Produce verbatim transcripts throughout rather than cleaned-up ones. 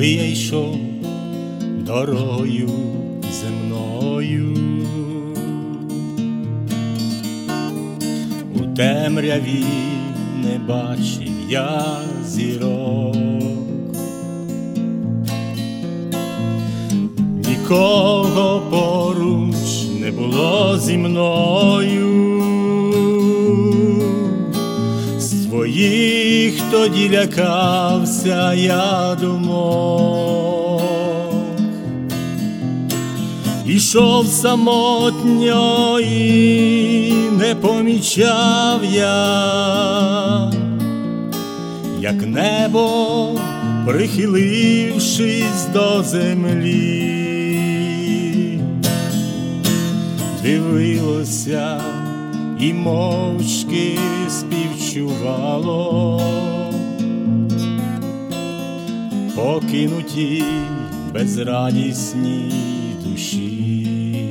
коли я йшов дорогою земною, у темряві не бачив я зірок, нікого поруч не було зі мною, своїх тоді лякався я думок. Ішов самотньо і не помічав я, як небо, прихилившись до землі, дивилося і мовчки співчувало покинуті безрадісній душі.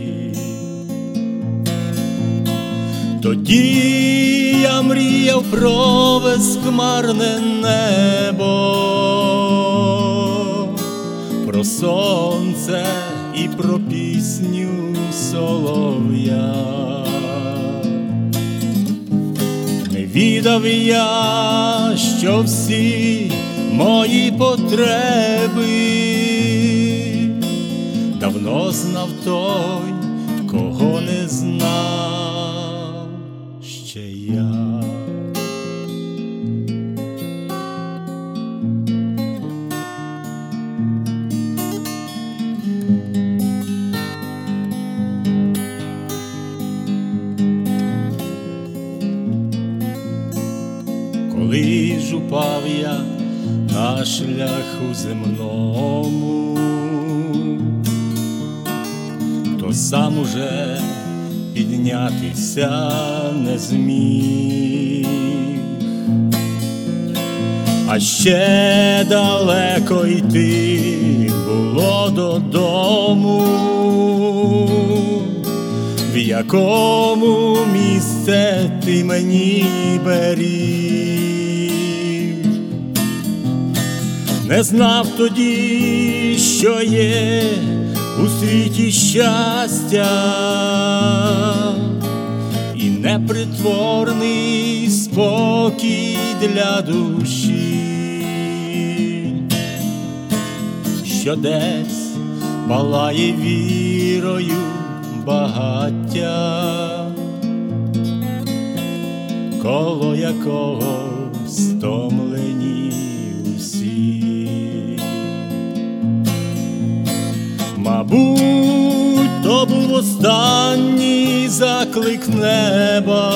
Тоді я мріяв про безхмарне небо, про сонце і про пісню солов'я. Не відав я, що всі мої потреби давно знав той, кого не знав ще я. Коли ж упав я на шляху земному, то сам уже піднятися не зміг, а ще далеко йти було додому, в якому місце ти мені беріг. Не знав тоді, що є у світі щастя і непритворний спокій для душі, що десь палає вірою багаття, коло якого стомлені усі. Мабуть, то був останній заклик неба,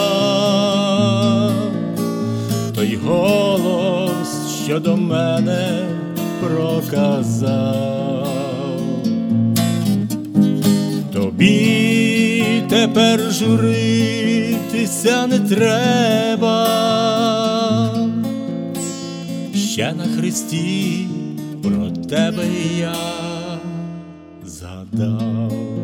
той голос, що до мене проказав: тобі тепер журитися не треба, ще на хресті про тебе я згадав.